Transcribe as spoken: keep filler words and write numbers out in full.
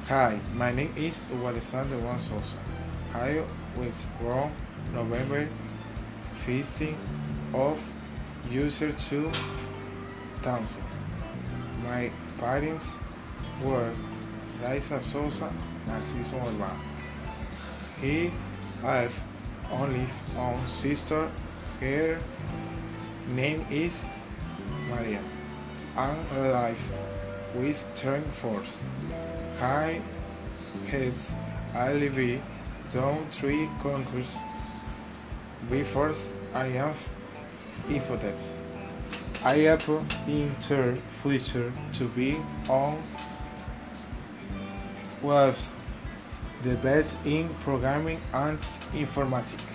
Hi, my name is Hugo Alexander Juan Sosa. I was born November fifteenth of user two thousand. My parents were Raisa Sosa, Narciso Urbano. He has only one sister. Her name is Maria. I'm alive with turn force. High heads I live down three concourse before I have infotech. I have in turn future to be on was the best in programming and informatics.